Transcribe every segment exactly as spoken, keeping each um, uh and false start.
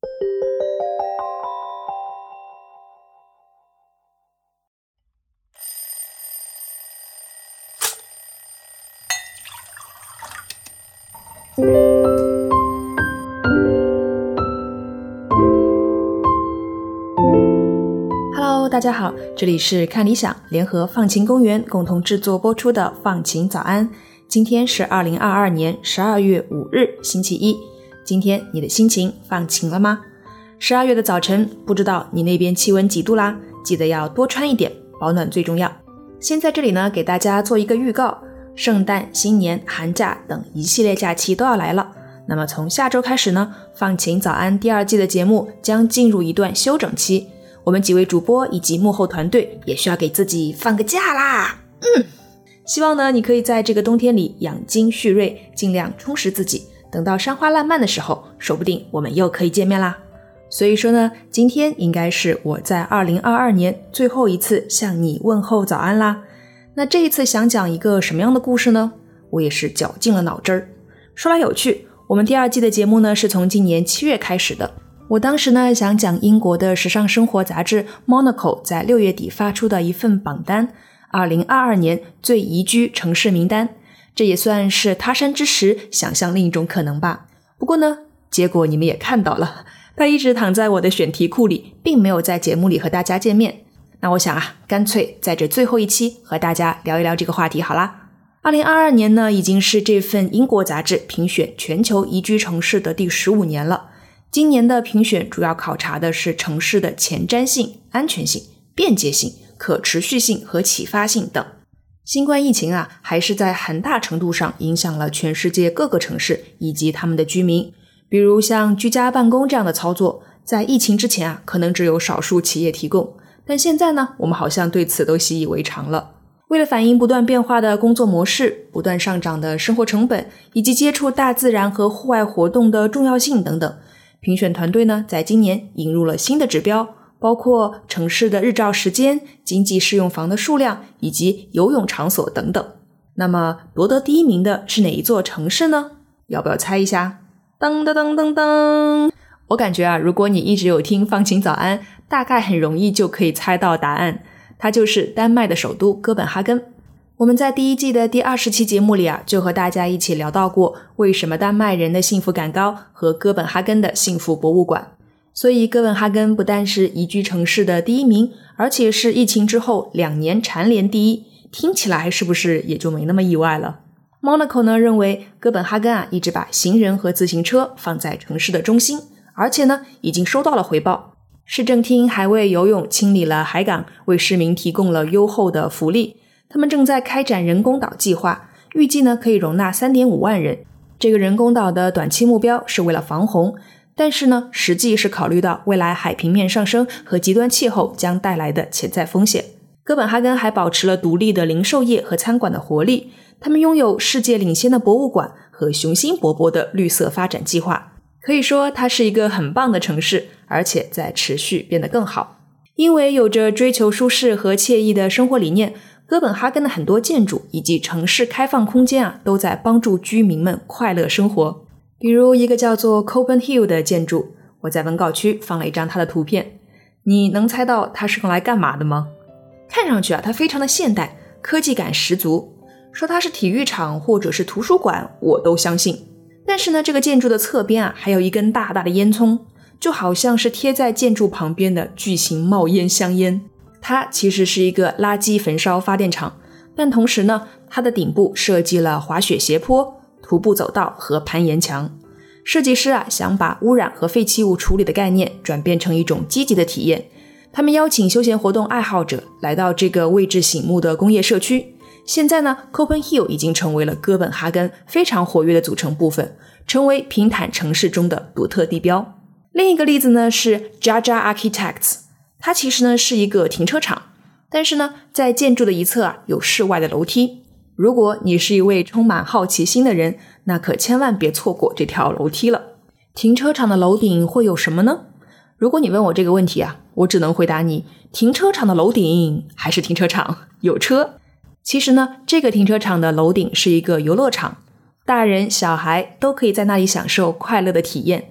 Hello， 大家好，这里是看理想联合放晴公园共同制作播出的放晴早安。今天是二零二二年十二月五日，星期一。今天你的心情放晴了吗？十二月的早晨，不知道你那边气温几度啦？记得要多穿一点，保暖最重要。先在这里呢，给大家做一个预告，圣诞、新年、寒假等一系列假期都要来了。那么从下周开始呢，放晴早安第二季的节目将进入一段休整期，我们几位主播以及幕后团队也需要给自己放个假啦。嗯，希望呢你可以在这个冬天里养精蓄锐，尽量充实自己，等到山花烂漫的时候，说不定我们又可以见面啦。所以说呢，今天应该是我在二零二二年最后一次向你问候早安啦。那这一次想讲一个什么样的故事呢？我也是绞尽了脑汁儿。说来有趣，我们第二季的节目呢是从今年七月开始的。我当时呢想讲英国的时尚生活杂志 Monaco 在六月底发出的一份榜单，二零二二年最宜居城市名单，这也算是他山之石想象另一种可能吧。不过呢，结果你们也看到了，它一直躺在我的选题库里，并没有在节目里和大家见面。那我想啊，干脆在这最后一期和大家聊一聊这个话题好啦。二零二二年呢，已经是这份英国杂志评选全球宜居城市的第十五年了。今年的评选主要考察的是城市的前瞻性、安全性、便捷性、可持续性和启发性等。新冠疫情啊，还是在很大程度上影响了全世界各个城市以及他们的居民。比如像居家办公这样的操作，在疫情之前啊，可能只有少数企业提供，但现在呢，我们好像对此都习以为常了。为了反映不断变化的工作模式、不断上涨的生活成本，以及接触大自然和户外活动的重要性等等，评选团队呢，在今年引入了新的指标，包括城市的日照时间、经济适用房的数量以及游泳场所等等。那么夺得第一名的是哪一座城市呢？要不要猜一下？噔噔噔噔噔！我感觉啊，如果你一直有听放晴早安，大概很容易就可以猜到答案。它就是丹麦的首都哥本哈根。我们在第一季的第二十期节目里啊，就和大家一起聊到过为什么丹麦人的幸福感高和哥本哈根的幸福博物馆。所以哥本哈根不但是宜居城市的第一名，而且是疫情之后两年蝉联第一，听起来是不是也就没那么意外了？ Monaco 呢认为哥本哈根啊一直把行人和自行车放在城市的中心，而且呢已经收到了回报。市政厅还为游泳清理了海港，为市民提供了优厚的福利。他们正在开展人工岛计划，预计呢可以容纳 三点五万人。这个人工岛的短期目标是为了防洪，但是呢实际是考虑到未来海平面上升和极端气候将带来的潜在风险。哥本哈根还保持了独立的零售业和餐馆的活力，他们拥有世界领先的博物馆和雄心勃勃的绿色发展计划。可以说它是一个很棒的城市，而且在持续变得更好。因为有着追求舒适和惬意的生活理念，哥本哈根的很多建筑以及城市开放空间啊，都在帮助居民们快乐生活。比如一个叫做 Copen Hill 的建筑，我在文稿区放了一张它的图片。你能猜到它是用来干嘛的吗？看上去啊，它非常的现代，科技感十足。说它是体育场或者是图书馆，我都相信。但是呢，这个建筑的侧边啊，还有一根大大的烟囱，就好像是贴在建筑旁边的巨型冒烟香烟。它其实是一个垃圾焚烧发电厂，但同时呢，它的顶部设计了滑雪斜坡、徒步走道和攀岩墙。设计师啊，想把污染和废弃物处理的概念转变成一种积极的体验。他们邀请休闲活动爱好者来到这个位置醒目的工业社区。现在呢 Copen Hill 已经成为了哥本哈根非常活跃的组成部分，成为平坦城市中的独特地标。另一个例子呢是 Jaja Architects， 它其实呢是一个停车场，但是呢在建筑的一侧啊有室外的楼梯。如果你是一位充满好奇心的人，那可千万别错过这条楼梯了。停车场的楼顶会有什么呢？如果你问我这个问题啊，我只能回答你，停车场的楼顶还是停车场，有车。其实呢，这个停车场的楼顶是一个游乐场，大人小孩都可以在那里享受快乐的体验。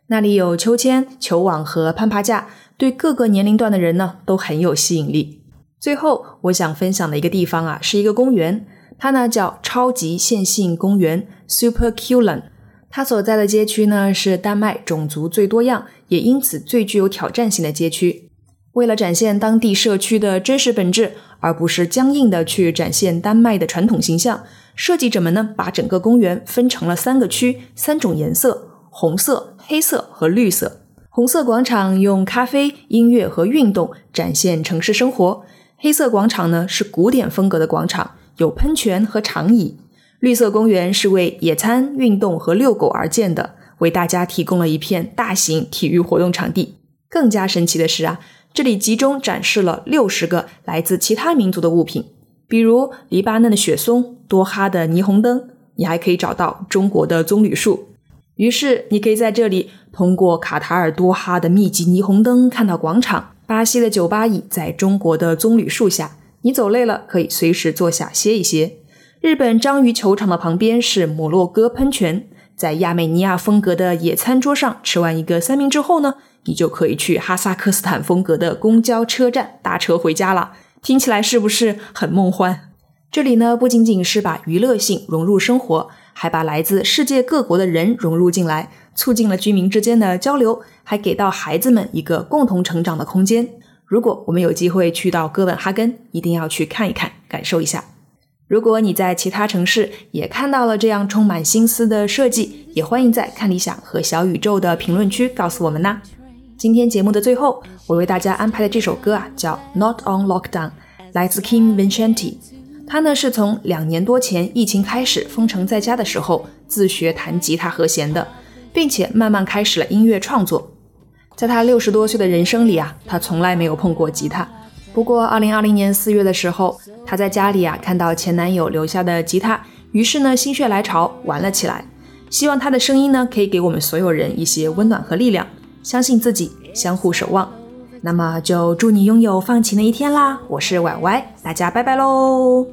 那里有秋千、球网和攀爬架，对各个年龄段的人呢都很有吸引力。最后我想分享的一个地方啊，是一个公园，它呢叫超级线性公园 Superkulen。 它所在的街区呢是丹麦种族最多样，也因此最具有挑战性的街区。为了展现当地社区的真实本质，而不是僵硬的去展现丹麦的传统形象，设计者们呢把整个公园分成了三个区，三种颜色，红色、黑色和绿色。红色广场用咖啡、音乐和运动展现城市生活，黑色广场呢是古典风格的广场，有喷泉和长椅。绿色公园是为野餐、运动和遛狗而建的，为大家提供了一片大型体育活动场地。更加神奇的是啊，这里集中展示了六十个来自其他民族的物品，比如黎巴嫩的雪松、多哈的霓虹灯，你还可以找到中国的棕榈树。于是你可以在这里通过卡塔尔多哈的密集霓虹灯看到广场，巴西的酒吧椅在中国的棕榈树下，你走累了可以随时坐下歇一歇。日本章鱼球场的旁边是摩洛哥喷泉，在亚美尼亚风格的野餐桌上吃完一个三明治后呢，你就可以去哈萨克斯坦风格的公交车站搭车回家了。听起来是不是很梦幻？这里呢不仅仅是把娱乐性融入生活，还把来自世界各国的人融入进来，促进了居民之间的交流，还给到孩子们一个共同成长的空间。如果我们有机会去到哥本哈根，一定要去看一看，感受一下。如果你在其他城市也看到了这样充满心思的设计，也欢迎在看理想和小宇宙的评论区告诉我们啦。今天节目的最后，我为大家安排的这首歌啊，叫 Not on Lockdown， 来自 Kim Vincenti。 他呢是从两年多前疫情开始封城在家的时候自学弹吉他和弦的，并且慢慢开始了音乐创作。在他六十多岁的人生里啊，他从来没有碰过吉他。不过二零二零年四月的时候，她在家里啊看到前男友留下的吉他，于是呢心血来潮玩了起来。希望她的声音呢可以给我们所有人一些温暖和力量，相信自己，相互守望。那么就祝你拥有放晴的一天啦！我是婉歪，大家拜拜喽。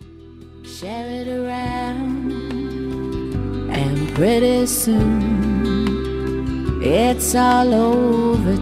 Share it around, and pretty soon it's all over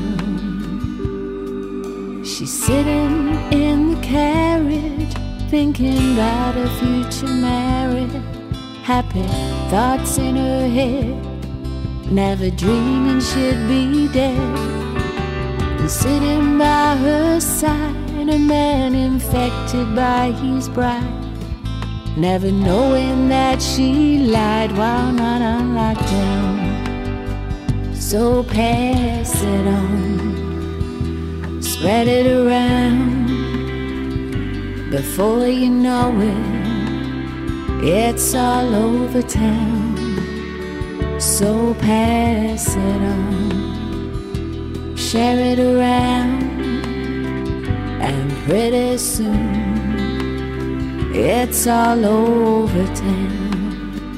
town.She's sitting in the carriage, thinking about her future marriage. Happy thoughts in her head, never dreaming she'd be dead. And sitting by her side, a man infected by his bride, never knowing that she lied while not on lockdown. So pass it on,spread it around, before you know it, it's all over town. So pass it on, share it around, and pretty soon it's all over town.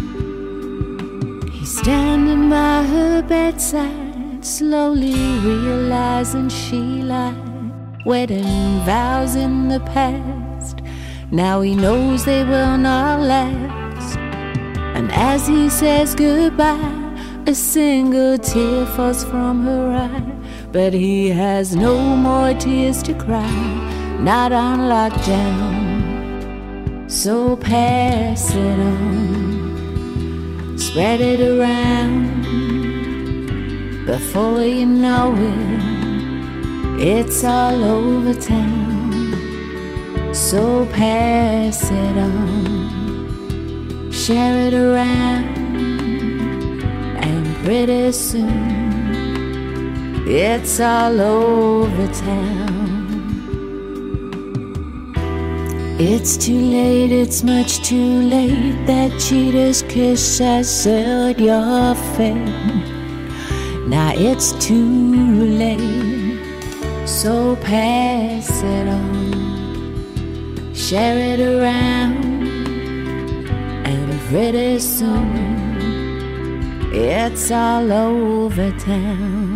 He's standing by her bedside, slowly realizing she lied. Wedding vows in the past, now he knows they will not last. And as he says goodbye, a single tear falls from her eye. But he has no more tears to cry, not on lockdown. So pass it on, spread it around, before you know it, it's all over town. So pass it on, share it around, and pretty soon it's all over town. It's too late, it's much too late. That cheater's kiss has sealed your fate. Now it's too late, so pass it on, share it around, and pretty soon it's all over town.